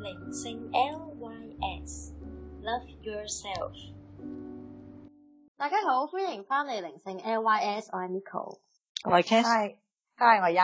靈性 LYS Love Yourself。 大家好，歡迎翻嚟靈性 LYS， 我係 Nico， 我係 Hi， 我係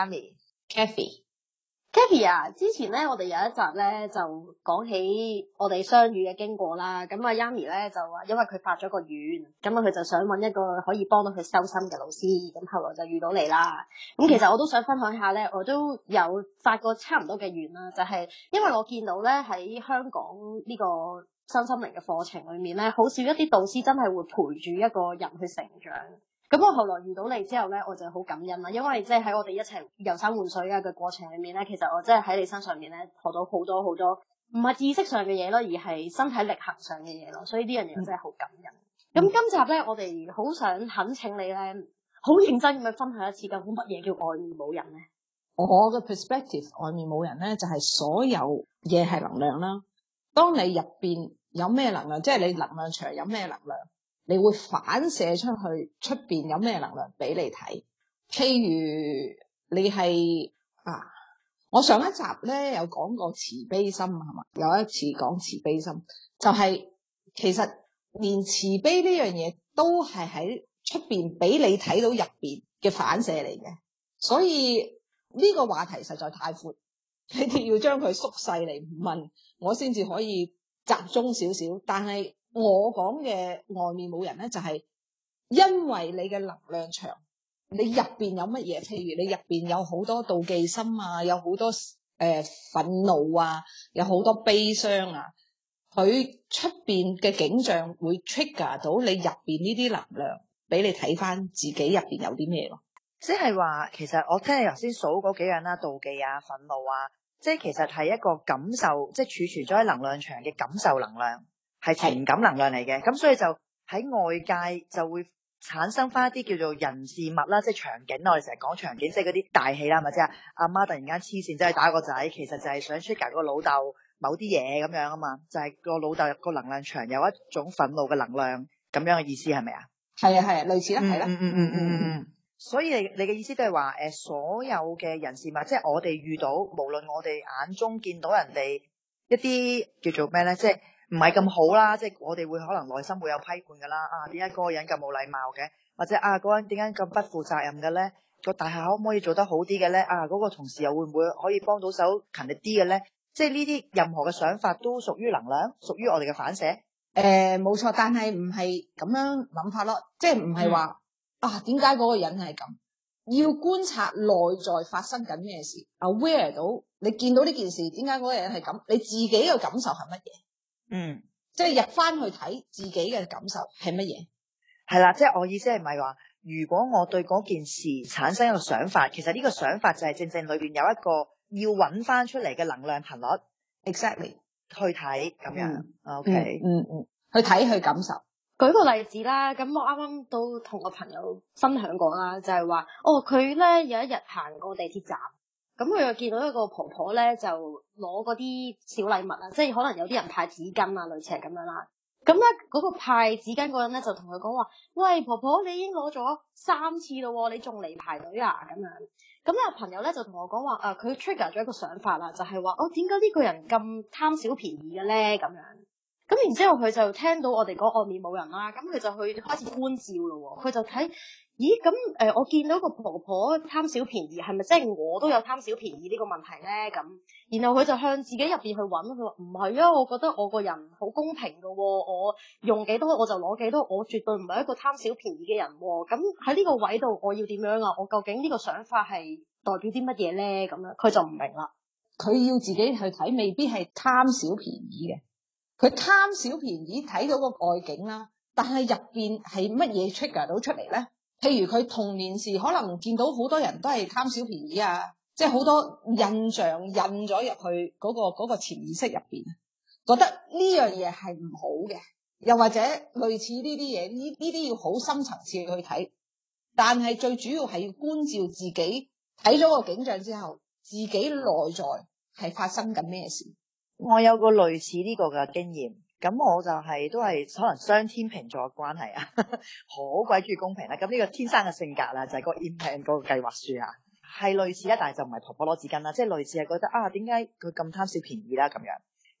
Yami。Kathy 啊，之前咧我哋有一集咧就講起我哋相遇嘅經過啦。咁啊 Yami 咧就話，因為佢發咗個願，咁啊佢就想揾一個可以幫到佢修心嘅老師。咁後來就遇到你啦。咁其實我都想分享下咧，我都有發過差唔多嘅願啦，就係因為我見到咧喺香港呢個身心靈嘅課程裏面咧，好少一啲導師真係會陪住一個人去成長。咁我後來遇到你之後咧，我就好感恩啦，因為即係喺我哋一齊遊山玩水嘅過程裏面咧，其實我真係喺你身上面咧學到好多好多，唔係知識上嘅嘢咯，而係身體力行上嘅嘢咯，所以呢樣嘢真係好感恩。咁今集咧，我哋好想懇請你咧，好認真咁樣分享一次，究竟乜嘢叫外面冇人咧？ 我嘅 perspective， 外面冇人咧，就係所有嘢係能量啦。當你入邊有咩能量，即係你能量場有咩能量，你會反射出去出邊有咩能量俾你睇。譬如你係我上一集咧有講過慈悲心係嘛？有一次講慈悲心，就係其實連慈悲呢樣嘢都係喺出邊俾你睇到入邊嘅反射嚟嘅。所以呢個話題實在太闊，你哋要將佢縮細嚟問我先至可以集中少少。但係我講嘅外面冇人咧，就係因為你嘅能量場，你入邊有乜嘢？譬如你入邊有好多妒忌心啊，有好多憤怒啊，有好多悲傷啊，佢出邊嘅景象會 trigger 到你入邊呢啲能量，俾你睇翻自己入邊有啲咩咯。 即係話，其實我聽你頭先數嗰幾樣啦，妒忌啊、憤怒啊，即係其實係一個感受，即係儲存咗喺能量場嘅感受能量。係情感能量嚟嘅，咁所以就喺外界就會產生翻一啲叫做人事物啦，即係場景。我哋成日講場景，即係嗰啲大戲啦，咪即係阿媽突然間黐線，走去打個仔，其實就係想 trigger 個老豆某啲嘢咁樣啊嘛，就係個老豆個能量場有一種憤怒嘅能量咁樣嘅意思係咪啊？ 係啊，類似啦，係啦。 所以你嘅意思都係話所有嘅人事物，即係我哋遇到，無論我哋眼中見到人哋一啲叫做咩咧，即係唔係咁好啦，即係我哋會可能內心會有批判噶啦。點解嗰個人咁冇禮貌嘅？或者嗰個人點解咁不負責任嘅咧？個大廈可唔可以做得好啲嘅咧？嗰個同事又會唔會可以幫到手勤力啲嘅咧？即係呢啲任何嘅想法都屬於能量，屬於我哋嘅反射。 冇錯，但係唔係咁樣諗法咯，即係唔係話點解嗰個人係咁？要觀察內在發生緊咩事 ，aware 到你見到呢件事，點解嗰個人係咁？你自己嘅感受係乜嘢？即係入翻去睇自己嘅感受係乜嘢？ 係啦，即係我意思係咪話，如果我對嗰件事產生一個想法，其實呢個想法就係正正裏邊有一個要揾翻出嚟嘅能量頻率 ，exactly 去睇咁樣。 OK，去睇去感受。 舉個例子啦，咁我啱啱都同個朋友分享過啦，就係話，佢咧有一日行過地鐵站。咁佢又見到一個婆婆咧，就攞嗰啲小禮物啊，即係可能有啲人派紙巾啊，類似係咁樣啦。咁咧嗰個派紙巾嗰人咧就同佢講話：喂，婆婆，你已經攞咗3次咯，你仲嚟排隊啊？咁樣。咁咧朋友咧就同我講話，佢 trigger 咗一個想法啦，就係話，點解呢個人咁貪小便宜嘅咧？咁樣。咁然之後佢就聽到我哋講外面冇人啦，咁佢就去開始觀照咯。佢就睇。咦，咁我見到個婆婆貪小便宜，係咪即係我都有貪小便宜呢個問題咧？咁，然後佢就向自己入邊去揾，佢話唔係啊，我覺得我個人好公平噶，我用幾多我就攞幾多，我絕對唔係一個貪小便宜嘅人。咁喺呢個位度，我要點樣啊？我究竟呢個想法係代表啲乜嘢咧？咁樣佢就唔明啦。 佢要自己去睇，未必係貪小便宜嘅。佢貪小便宜睇到個外景啦，但係入邊係乜嘢 trigger 到出嚟咧？譬如佢童年時可能見到好多人都係貪小便宜啊，即係好多印象印咗入去嗰個潛意識入邊，覺得呢樣嘢係唔好嘅，又或者類似呢啲嘢，呢啲要好深層次去睇。但係最主要係要觀照自己，睇咗個景象之後，自己內在係發生緊咩事。 我有個類似呢個嘅經驗。咁我就都係可能雙天秤座嘅關係啊，好鬼中意公平啦。咁呢個天生嘅性格啦，就係個 impact 嗰個計劃書啊，係類似啦，但係就唔係婆婆攞紙巾啦，即係類似係覺得點解佢咁貪小便宜啦咁樣。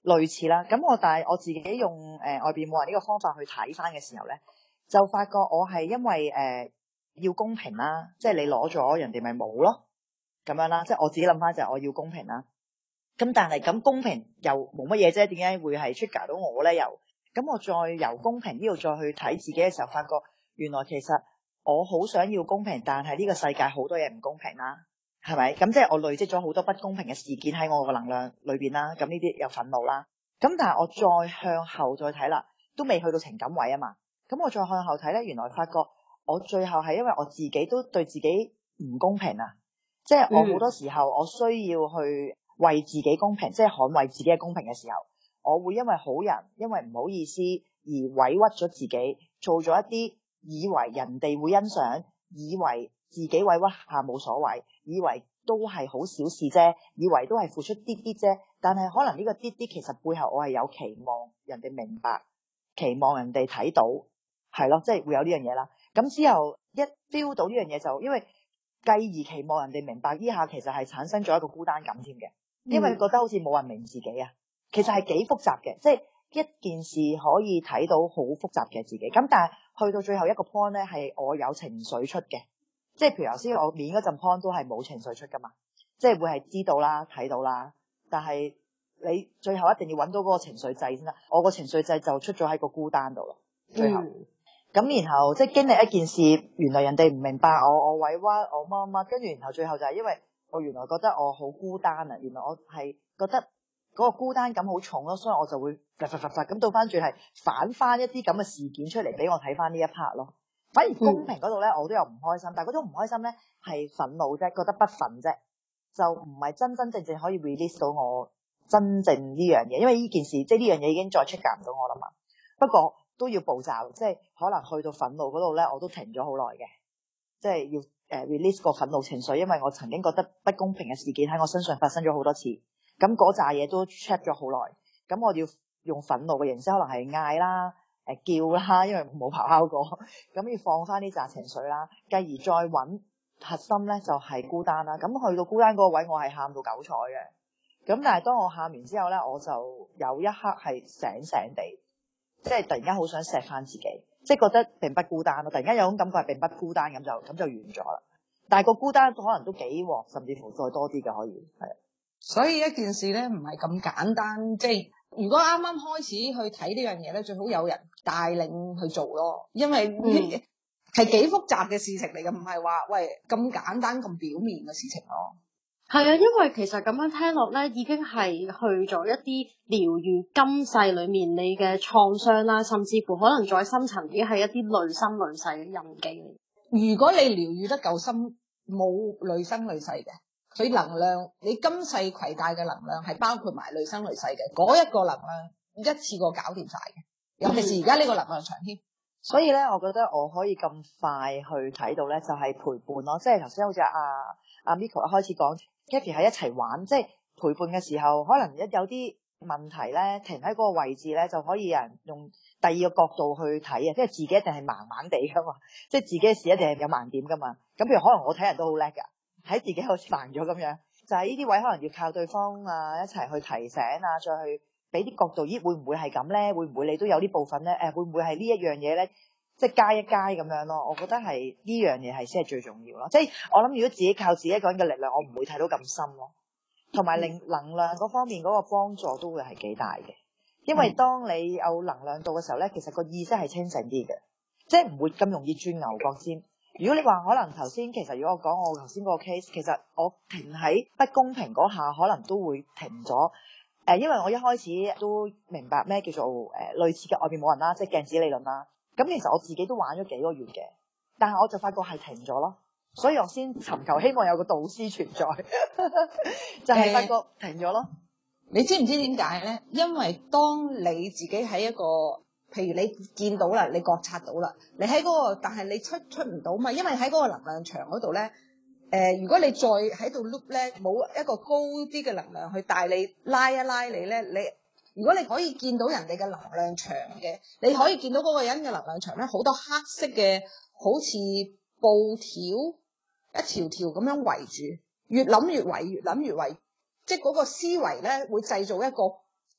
類似啦。咁但係我自己用外邊冇人呢個方法去睇翻嘅時候咧，就發覺我係因為要公平啦，即係你攞咗人哋咪冇咯，咁樣啦。即係我自己諗翻就係我要公平啦。咁但係咁公平又冇乜嘢啫，點解會係 trigger 到我咧？又咁我再由公平呢度再去睇自己嘅時候，發覺原來其實我好想要公平，但係呢個世界好多嘢唔公平啦，係咪？咁即係我累積咗好多不公平嘅事件喺我個能量裏邊啦。咁呢啲有憤怒啦。咁但係我再向後再睇啦，都未去到情感位啊嘛。咁我再向後睇咧，原來發覺我最後係因為我自己都對自己唔公平啊。即係我好多時候我需要去為自己公平，即係捍衛自己嘅公平嘅時候，我會因為好人，因為唔好意思而委屈咗自己，做咗一啲以為人哋會欣賞，以為自己委屈下冇所謂，以為都係好小事啫，以為都係付出啲啲啫。但係可能呢個啲啲其實背後我係有期望人哋明白，期望人哋睇到，係咯，即係會有呢樣嘢啦。咁之後一 feel 到呢樣嘢，就因為繼而期望人哋明白呢下，其實係產生咗一個孤單感添嘅，因為覺得好似冇人明自己啊。其實係幾複雜嘅，即係一件事可以睇到好複雜嘅自己。咁但係去到最後一個 point 咧，係我有情緒出嘅，即係譬如頭先我面嗰陣 point 都係冇情緒出噶嘛，即係會係知道啦、睇到啦，但係你最後一定要揾到嗰個情緒掣先啦。我個情緒掣就出咗喺個孤單度咯，最後。咁然後即係經歷一件事，原來人哋唔明白我委屈我乜乜，跟住然後最後就係因為我原來覺得我好孤單啊，原來我係覺得嗰個孤單感好重咯，所以我就會咁到翻轉係反翻一啲咁嘅事件出嚟俾我睇翻呢一 part 咯。反而公平嗰度咧，我都有唔開心，但係嗰種唔開心咧係憤怒啫，覺得不忿啫，就唔係真真正正可以 release 到我真正呢樣嘢，因為呢件事即係呢樣嘢已經再 trigger 唔到我啦嘛。不過都要步驟，即係可能去到憤怒嗰度咧，我都停咗好耐嘅，即係要release 個憤怒情緒，因為我曾經覺得不公平嘅事件喺我身上發生咗好多次，咁嗰扎嘢都 check 咗好耐，咁我要用憤怒嘅形式，可能係嗌啦、叫啦，因為冇咆哮過，咁要放翻呢扎情緒啦，繼而再揾核心咧就係孤單啦。咁去到孤單嗰個位，我係喊到九彩嘅，咁但係當我喊完之後咧，我就有一刻係醒醒地。即係突然間好想錫翻自己，即係覺得並不孤單咯。突然間有種感覺係並不孤單，咁就完咗啦。但係個孤單可能都幾鑊，甚至乎再多啲嘅可以係。 所以一件事咧唔係咁簡單，即係如果啱啱開始去睇呢樣嘢咧，最好有人帶領去做咯。因為係幾複雜嘅事情嚟嘅，唔係話喂咁簡單咁表面嘅事情咯。 係啊，因為其實咁樣聽落咧，已經係去咗一啲療癒今世裏面你嘅創傷啦，甚至乎可能再深層啲係一啲累生累世嘅印記嚟。 如果你療癒得夠深，冇累生累世嘅，佢能量你今世攜帶嘅能量係包括埋累生累世嘅，嗰一個能量一次過搞掂晒嘅，尤其是而家呢個能量場添。 所以咧，我覺得我可以咁快去睇到咧，就係陪伴咯。即係頭先好似阿 Miko 一開始講 Kathy 喺一齊玩，即係陪伴嘅時候，可能一有啲問題咧，停喺嗰個位置咧，就可以有人用第二個角度去睇啊。即係自己一定係盲盲地噶嘛，即係自己嘅事一定係有盲點噶嘛。咁譬如可能我睇人都好叻噶，喺自己好似盲咗咁樣，就係呢啲位可能要靠對方啊一齊去提醒啊，再去俾啲角度，咦會唔會係咁咧？會唔會你都有啲部分咧？會唔會係呢一樣嘢咧？即係加一加咁樣咯。我覺得係呢樣嘢係先係最重要咯。即係我諗，如果自己靠自己一個人嘅力量，我唔會睇到咁深咯。同埋能量嗰方面嗰個幫助都會係幾大嘅。因為當你有能量到嘅時候咧，其實個意識係清醒啲嘅，即係唔會咁容易轉牛角尖。如果你話可能頭先，其實如果我講我頭先嗰個 case， 其實我停喺不公平嗰下，可能都會停咗。因為我一開始都明白咩叫做類似嘅外邊冇人啦，即係鏡子理論啦。咁其實我自己都玩咗幾個月嘅，但係我就發覺係停咗咯，所以我先尋求希望有個導師存在，就係發覺停咗咯。 你知唔知點解咧？因為當你自己喺一個，譬如你見到啦，你覺察到啦，你喺嗰個，但係你出唔到嘛，因為喺嗰個能量場嗰度咧。如果你再喺度 loop 咧，冇一個高啲嘅能量去帶你拉一拉你咧，如果你可以見到人哋嘅能量場嘅，你可以見到嗰個人嘅能量場咧，好多黑色嘅，好似布條一條條咁樣圍住，越諗越圍，越諗越圍，即係嗰個思維咧會製造一個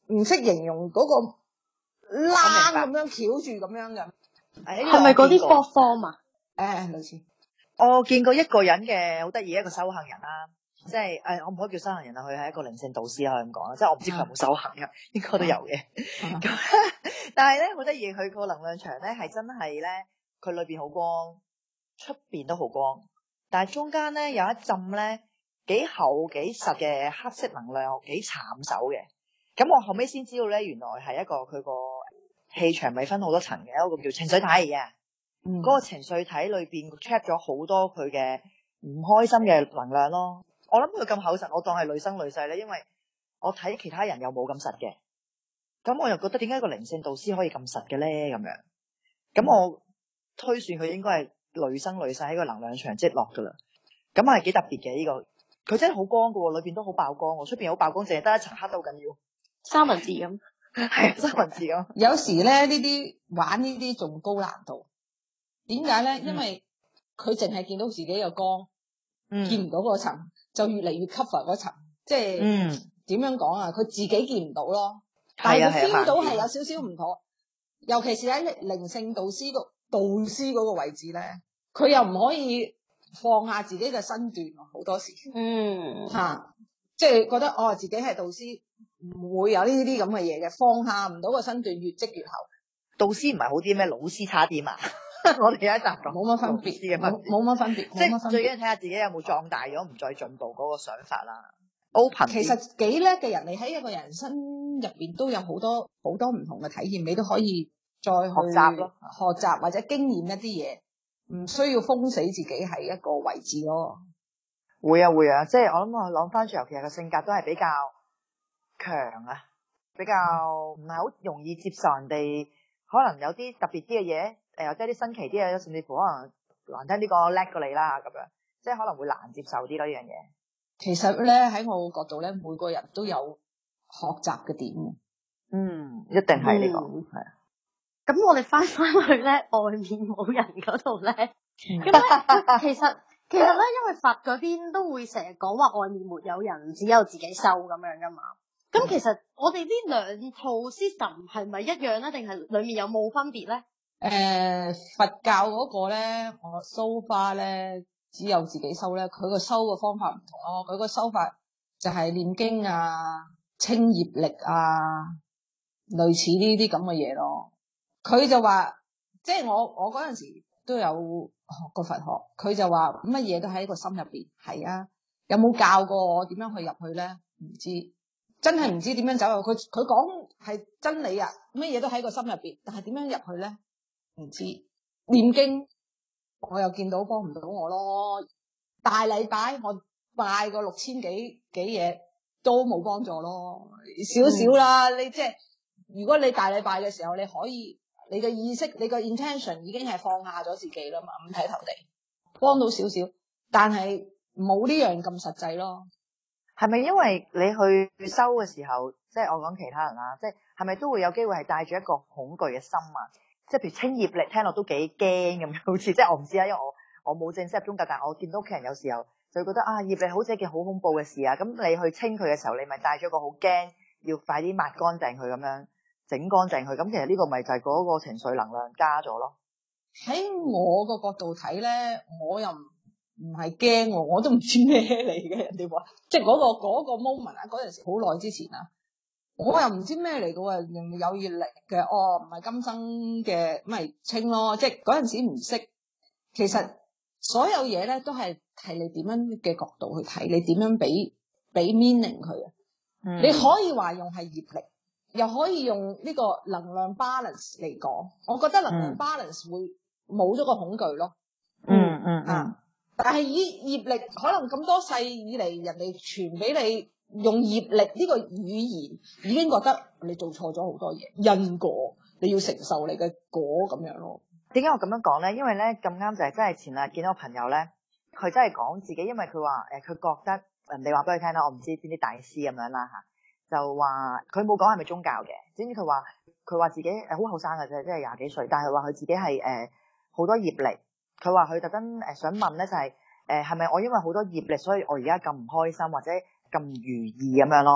唔識形容嗰個冷咁樣翹住咁樣嘅。 係咪嗰啲 fourth form 啊？ 類似。 我見過一個人嘅好得意，一個修行人啦，即係我唔可以叫修行人啊，佢係一個靈性導師可以咁講啦，即係我唔知佢有冇修行嘅，應該都有嘅。咁但係咧好得意，佢個能量場咧係真係咧，佢裏邊好光，出邊都好光，但係中間咧有一浸咧幾厚幾實嘅黑色能量，幾慘手嘅。咁我後尾先知道咧，原來係一個佢個氣場咪分好多層嘅，一個叫情緒體嘅。嗰個情緒體裏邊 trap 咗好多佢嘅唔開心嘅能量咯。我諗佢咁厚實，我當係累生累世咧，因為我睇其他人又冇咁實嘅。咁我又覺得點解個靈性導師可以咁實嘅咧？咁樣，咁我推算佢應該係累生累世喺個能量場積落噶啦。咁係幾特別嘅呢個，佢真係好光噶，裏邊都好爆光，出邊好爆光，淨係得一層黑都好緊要， 三文治咁， 係三文治咁。 有時咧呢啲玩呢啲仲高難度。點解咧？因為佢淨係見到自己嘅光，見唔到嗰層，就越嚟越 cover 嗰層。即係點樣講啊？佢自己見唔到咯，但係佢 feel 到係有少少唔妥。尤其是喺靈性導師嗰個位置咧，佢又唔可以放下自己嘅身段，好多時。即係覺得自己係導師，唔會有呢啲咁嘅嘢嘅，放下唔到個身段，越積越厚。 導師唔係好啲咩？老師差啲嘛？我哋有一集講冇乜分別，冇乜分別， 即係最緊要睇下自己有冇壯大咗，唔再進步嗰個想法啦。Open，其實幾叻嘅人，你喺一個人生入邊都有好多唔同嘅體驗，你都可以再去學習咯，學習或者經驗一啲嘢，唔需要封死自己喺一個位置咯。 會啊，即係我諗翻轉頭，其實個性格都係比較強啊，比較唔係好容易接受人哋可能有啲特別啲嘅嘢。或者啲新奇啲嘅，甚至乎可能難聽啲講叻過你啦，咁樣即係可能會難接受啲咯呢樣嘢。 其實咧喺我角度咧，每個人都有學習嘅點。 一定係呢個係。 咁我哋翻去咧外面冇人嗰度咧，咁咧其實咧，因為佛嗰邊都會成日講話外面沒有人，只有自己修咁樣噶嘛。咁其實我哋呢兩套 system 係咪一樣咧？定係裡面有冇分別咧？ 佛教嗰個咧，我修花咧，只有自己修咧，佢個修嘅方法唔同咯。佢個修法就係念經啊、清業力啊，類似呢啲咁嘅嘢咯。佢就話，即係我嗰陣時都有學過佛學，佢就話乜嘢都喺個心入邊。係啊，有冇教過我點樣去入去咧？唔知，真係唔知點樣走入去。佢講係真理啊，乜嘢都喺個心入邊，但係點樣入去咧？唔知。念經我又見到幫唔到我咯，大禮拜我拜個6000幾嘢都冇幫助咯，少少啦。你即係如果你大禮拜嘅時候，你可以你嘅意識、你個 intention 已經係放下咗自己啦嘛，五體投地，幫到少少，但係冇呢樣咁實際咯。 係咪因為你去修嘅時候，即係我講其他人啦，即係咪都會有機會係帶住一個恐懼嘅心啊？即係譬如清業力，聽落都幾驚咁樣，好似即係我唔知啊，因為我冇正式入宗教，但係我見到屋企人有時候就會覺得業力好似一件好恐怖嘅事啊。咁你去清佢嘅時候，你咪帶咗個好驚，要快啲抹乾淨佢咁樣，整乾淨佢。咁其實呢個咪就係嗰個情緒能量加咗咯。喺我個角度睇咧，我又唔係驚，我都唔知咩嚟嘅。人哋話即係嗰個 moment 啊，嗰陣時好耐之前啊。我又唔知咩嚟嘅喎，有業力嘅，唔係今生嘅，咪清咯。即係嗰陣時唔識，其實所有嘢咧都係你點樣嘅角度去睇，你點樣俾 meaning 佢啊。你可以話用係業力，又可以用呢個能量 balance 嚟講。我覺得能量 balance 會冇咗個恐懼咯。但係以業力可能咁多世以嚟，人哋傳俾你。用業力呢個語言已經覺得你做錯咗好多嘢，因果你要承受你嘅果咁樣咯。點解我咁樣講咧？因為咧咁啱就係真係前日見到個朋友咧，佢真係講自己，因為佢話佢覺得人哋話俾佢聽啦，我唔知邊啲大師咁樣啦吓，就話佢冇講係咪宗教嘅，總之佢話自己好後生嘅啫，即係20幾歲，但係話佢自己係好多業力。佢話佢特登想問咧就係咪我因為好多業力，所以我而家咁唔開心或者咁如意咁樣咯，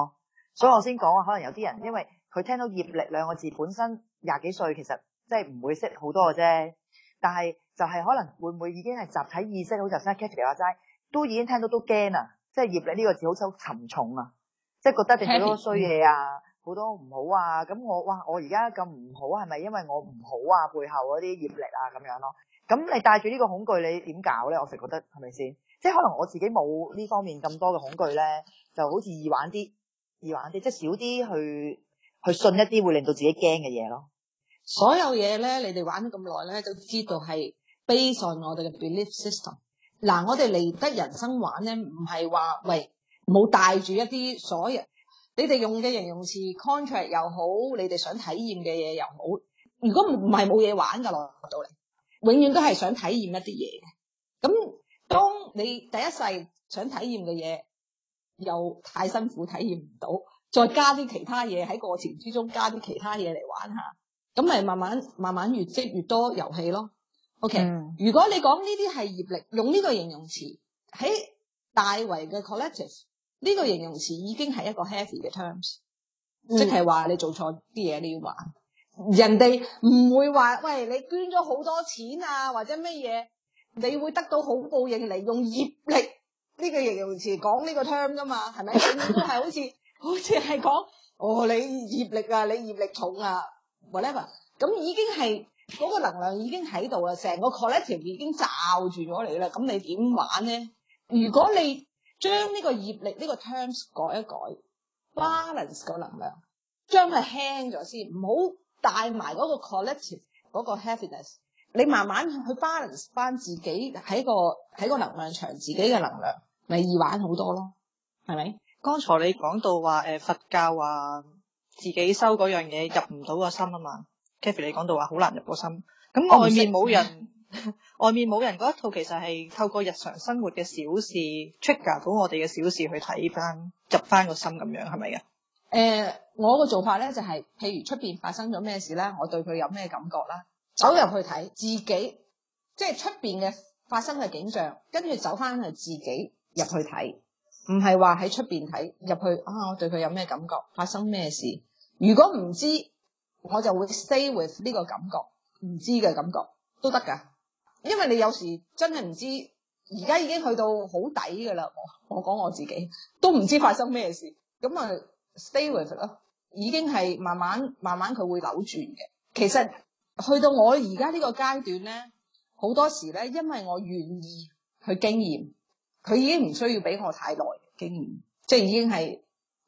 所以我先講話，可能有啲人因為佢聽到業力兩個字，本身20幾歲，其實即係唔會識好多嘅啫。但係就係可能會唔會已經係集體意識，好似頭先 Kathy 話齋，都已經聽到都驚啊！即係業力呢個字好似好沉重啊，即係覺得你好多衰嘢啊，好多唔好啊。咁我而家咁唔好，係咪因為我唔好啊？背後嗰啲業力啊咁樣咯。咁你帶住呢個恐懼，你點搞咧？我成日覺得係咪先？即係可能我自己冇呢方面咁多嘅恐懼咧，就好似易玩啲，即係少啲去信一啲會令到自己驚嘅嘢咯。 所有嘢咧，你哋玩咗咁耐咧，都知道係 based on 我哋嘅 belief system。嗱，我哋嚟得人生玩咧，唔係話喂冇帶住一啲所有你哋用嘅形容詞 contract 又好，你哋想體驗嘅嘢又好。如果唔係冇嘢玩噶落到嚟，永遠都係想體驗一啲嘢嘅。咁當你第一世想體驗嘅嘢又太辛苦體驗唔到，再加啲其他嘢喺過程之中加啲其他嘢嚟玩下。咁咪慢慢越積越多遊戲咯。OK，如果你講呢啲係業力，用呢個形容詞喺大圍嘅 collective， 呢個形容詞已經係一個 heavy 嘅 terms，即係話你做錯啲嘢你要還。人哋唔會話喂，你捐咗好多錢啊或者乜嘢，你會得到好報應嚟用業力呢個形容詞講呢個 term 噶嘛？係咪？永遠都係好似係講你業力啊，你業力重啊。whatever， 咁已經係嗰個能量已經喺度啦，成個 collective 已經罩住咗你啦。咁你點玩咧？如果你將呢個業力呢個 terms 改一改 ，balance 個能量，將佢輕咗先，唔好帶埋嗰個 collective 嗰個 heaviness。你慢慢去 balance 翻自己喺個能量場，自己嘅能量咪易玩好多咯，係咪？ 剛才你講到話佛教話自己修嗰樣嘢入唔到個心啊嘛 Kathy 你講到話好難入個心，咁外面冇人外面冇人嗰一套其實係透過日常生活嘅小事 trigger 到我哋嘅小事去睇翻入翻個心咁樣，係咪嘅？ 我個做法咧就係譬如出邊發生咗咩事啦，我對佢有咩感覺啦，走入去睇自己，即係出邊嘅發生嘅景象，跟住走翻去自己入去睇，唔係話喺出邊睇入去我對佢有咩感覺，發生咩事。如果唔知，我就會 stay with 呢個感覺，唔知嘅感覺都得噶。因為你有時真係唔知，而家已經去到好底噶啦。我講我自己都唔知發生咩事，咁啊 stay with 咯。已經係慢慢佢會扭轉嘅。其實去到我而家呢個階段咧，好多時咧，因為我願意去經驗，佢已經唔需要俾我太耐經驗，即係已經係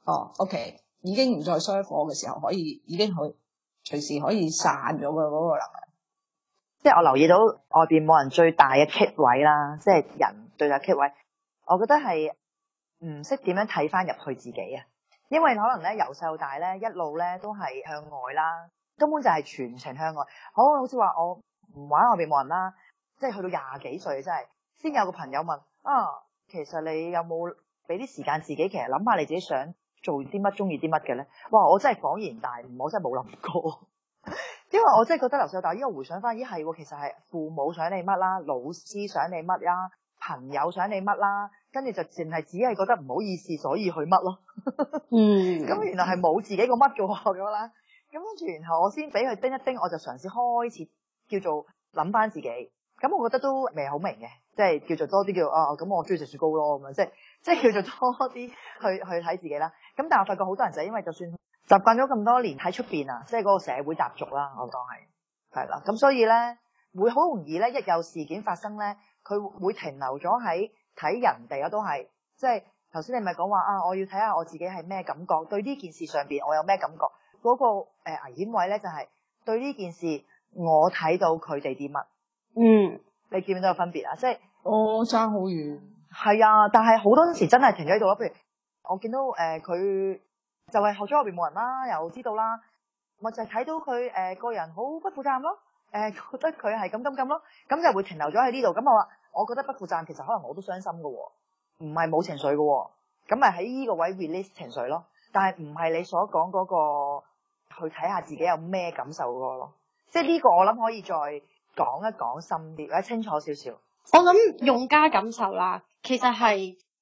OK。已經唔再衰火嘅時候，已經隨時可以散咗嘅嗰個能量。 即係我留意到外邊冇人最大嘅 kick 位啦，即係人最大 kick 位，我覺得係唔識點樣睇翻入去自己啊。因為可能咧由細到大咧一路咧都係向外啦，根本就係全程向外。好似話我唔玩外邊冇人啦，即係去到20幾歲真係先有個朋友問其實你有冇俾啲時間自己，其實諗下你自己想做啲乜，中意啲乜嘅咧？哇！我真係恍然大悟，我真係冇諗過，因為我真係覺得由細到大，依家回想翻，咦係喎，其實係父母想你乜啦，老師想你乜啦，朋友想你乜啦，跟住就淨係只係覺得唔好意思，所以去乜咯。咁原來係冇自己個乜嘅喎咁啦。咁跟住然後我先俾佢叮一叮，我就嘗試開始叫做諗翻自己。咁我覺得都未好明嘅，即係叫做多啲叫咁我中意食雪糕咯咁樣，即係叫做多啲去睇自己啦。咁但係我發覺好多人就係因為就算習慣咗咁多年喺出邊啊，即係嗰個社會習俗啦，我當係啦。咁所以咧會好容易咧，一有事件發生咧，佢會停留咗喺睇人哋啊，都係即係頭先你咪講話我要睇下我自己係咩感覺，對呢件事上邊我有咩感覺。嗰個危險位咧就係對呢件事我睇到佢哋啲乜。你見唔見到有分別啊？即係爭好遠。 係啊，但係好多時真係停咗喺度咯。譬如我見到佢就係學咗外邊冇人啦，又知道啦，我就係睇到佢個人好不負責任咯。覺得佢係咁咯，咁就會停留咗喺呢度。咁我覺得不負責任，其實可能我都傷心噶，唔係冇情緒噶。咁咪喺呢個位 release 情緒咯。但係唔係你所講嗰個去睇下自己有咩感受嗰個咯。即係呢個我諗可以再講一講深啲或者清楚少少。 我諗用家感受啦，其實係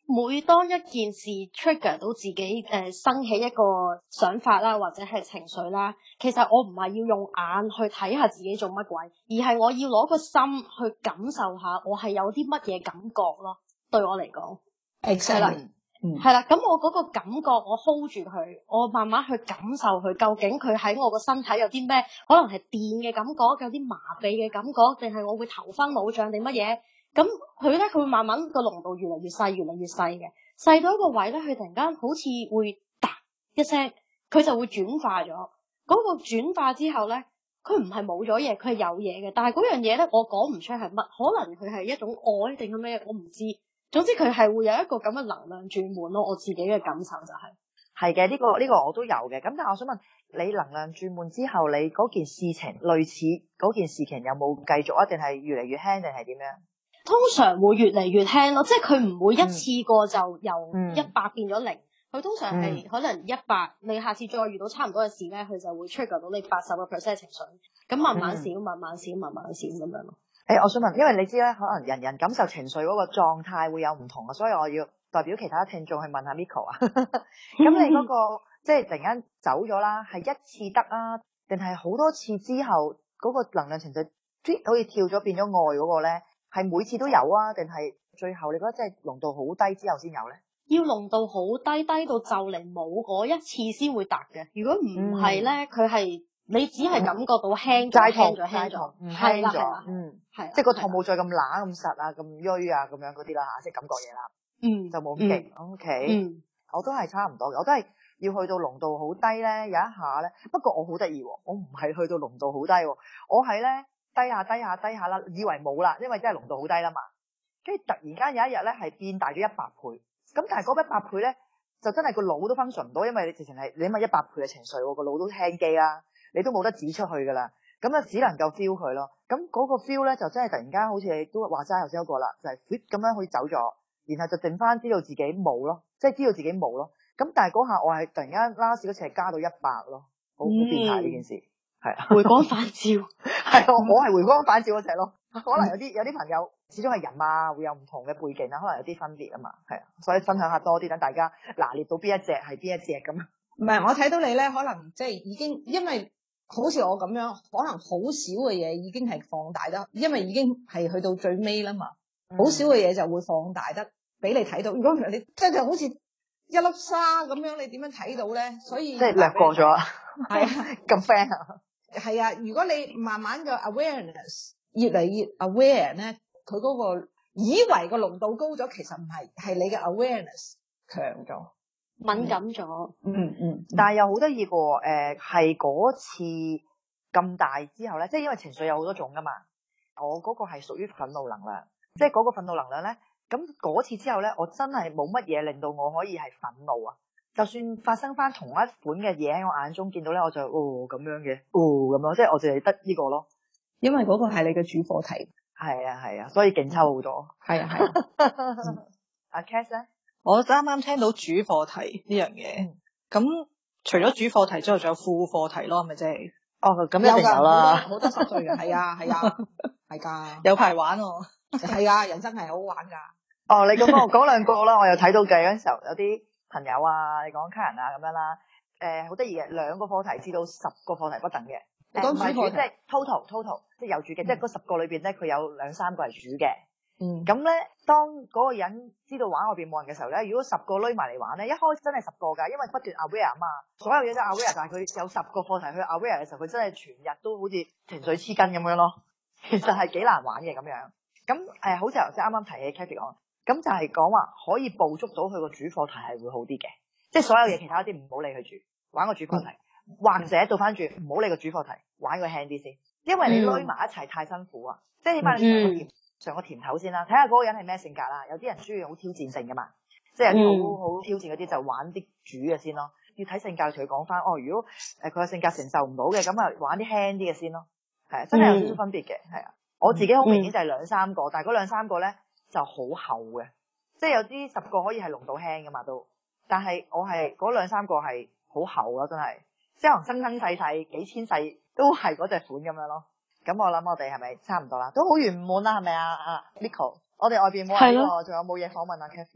每當一件事 trigger 到自己生起一個想法啦，或者係情緒啦，其實我唔係要用眼去睇下自己做乜鬼，而係我要攞個心去感受下我係有啲乜嘢感覺咯。對我嚟講，係啦，係啦，咁我嗰個感覺我 hold 住佢，我慢慢去感受佢，究竟佢喺我個身體有啲咩，可能係電嘅感覺，有啲麻痹嘅感覺，定係我會頭昏腦脹定乜嘢？咁佢咧，佢會慢慢個濃度越嚟越細，越嚟越細嘅，細到一個位咧，佢突然間好似會嗒一聲，佢就會轉化咗。嗰個轉化之後咧，佢唔係冇咗嘢，佢係有嘢嘅，但係嗰樣嘢咧，我講唔出係乜，可能佢係一種愛定係咩，我唔知。總之佢係會有一個咁嘅能量轉換咯。我自己嘅感受就係嘅，呢個我都有嘅。咁但係我想問你，能量轉換之後，你嗰件事情類似嗰件事情有冇繼續啊？定係越嚟越輕定係點樣？ 通常會越嚟越輕咯，即係佢唔會一次過就由100變咗0，佢通常係可能100，你下次再遇到差唔多嘅事咧，佢就會 trigger 到你80% 情緒，咁慢慢少，慢慢少，慢慢少咁樣咯。 我想問，因為你知咧，可能人人感受情緒嗰個狀態會有唔同啊，所以我要代表其他聽眾去問下 Miko 啊。咁你嗰個即係突然間走咗啦，係一次得啊，定係好多次之後嗰個能量情緒好似跳咗變咗愛嗰個咧？係每次都有啊，定係最後你覺得即係濃度好低之後先有咧？要濃度好低，低到就嚟冇嗰一次先會達嘅。如果唔係咧，佢係你只係感覺到輕咗，輕咗，輕咗，係啦，係，即係個痛冇再咁乸咁實啊，咁瘀啊，咁樣嗰啲啦嚇，即係感覺嘢啦，就冇咁勁。OK，我都係差唔多嘅，我都係要去到濃度好低咧，有一下咧。不過我好得意喎，我唔係去到濃度好低喎，我係咧。低下啦，以為冇啦，因為真係濃度好低啦嘛。跟住突然間有一日咧，係變大咗100倍。咁但係嗰100倍咧，就真係個腦都 function 唔到，因為你直情係你諗下100倍嘅情緒，個腦都輕機啦，你都冇得指出去噶啦。咁啊，只能夠 feel 佢咯。咁嗰個 feel 咧，就真係突然間好似你都話齋頭先嗰個啦，就係 fit 咁樣可以走咗，然後就剩翻知道自己冇咯，即係知道自己冇咯。咁但係嗰下我係突然間 last 嗰次係加到100咯，好變態呢件事。係啊，回光返照，係我係回光返照嗰隻咯。可能有啲朋友始終係人啊，會有唔同嘅背景啊，可能有啲分別啊嘛。係啊，所以分享下多啲，等大家拿捏到邊一隻係邊一隻咁。 唔係，我睇到你咧，可能即係已經，因為好似我咁樣，可能好少嘅嘢已經係放大得，因為已經係去到最尾啦嘛。好少嘅嘢就會放大得俾你睇到。如果唔係你即係好似一粒沙咁樣，你點樣睇到咧？所以即係略過咗，係啊，咁 friend 啊。 係啊，如果你慢慢嘅 awareness 越嚟越 aware 咧，佢嗰個以為個濃度高咗，其實唔係，係你嘅 awareness 強咗， 敏感咗。 但係又好得意個係嗰次咁大之後咧，即係因為情緒有好多種噶嘛，我嗰個係屬於憤怒能量，即係嗰個憤怒能量咧，咁嗰次之後咧，我真係冇乜嘢令到我可以係憤怒啊。就算發生翻同一款嘅嘢喺我眼中見到咧，我就咁樣嘅，咁咯，即係我淨係得呢個咯， 因為嗰個係你嘅主課題。 係啊，所以勁抽好多。係啊。阿 Cass 咧， 我啱啱聽到主課題呢樣嘢，咁除咗主課題之後，仲有副課題咯，係咪啫？ 咁一定有啦， 好多濕碎嘅，係啊，係噶， 有排玩喎。 係啊，人生係好玩噶。 你咁講兩個啦，我又睇到嘅嗰陣時候有啲朋友啊，你講客人啊咁樣啦，好得意嘅，2個課題至到10個課題不等嘅。唔係主，即係 total，即係有主嘅，即係嗰10個裏邊咧，佢有2-3個係主嘅。咁咧，當嗰個人知道玩外邊冇人嘅時候咧，如果10個攏埋嚟玩咧，一開始真係10個㗎，因為不斷 aware 啊嘛，所有嘢都 aware，但係佢有10個課題去 aware 嘅時候，佢真係全日都好似情緒黐筋咁樣咯。其實係幾難玩嘅咁樣。咁好似頭先啱啱提起 Cathy 講。咁就係講話可以捕捉到佢個主課題係會好啲嘅，即係所有嘢其他啲唔好理佢住，玩個主課題，或者倒翻轉唔好理個主課題，玩個輕啲先，因為你攏埋一齊太辛苦啊，即係起碼你嘗個甜頭先啦，睇下嗰個人係咩性格啦，有啲人中意好挑戰性噶嘛，即係有啲好挑戰嗰啲就玩啲主嘅先咯，要睇性格同佢講翻，如果佢個性格承受唔到嘅，咁啊玩啲輕啲嘅先咯，係啊，真係有少少分別嘅，係啊，我自己好明顯就係2-3個，但係嗰2-3個咧。就好厚嘅，即係有啲10個可以係濃度輕噶嘛都，但係我係嗰2-3個係好厚咯，真係，即係可能生生世世幾千世都係嗰隻款咁樣咯。咁我諗我哋係咪差唔多啦？都好圓滿啦，係咪啊？Miko，我哋外邊冇人喎，仲有冇嘢訪問啊 Cathy？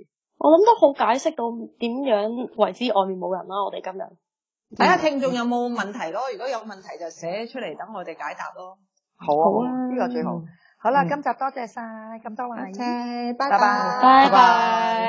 我諗都好解釋到點樣為之外面冇人啦。我哋今日睇下聽眾有冇問題咯，如果有問題就寫出嚟等我哋解答咯。 好啊，呢個最好。好啦，今集多謝晒咁多位， 拜拜。 拜拜。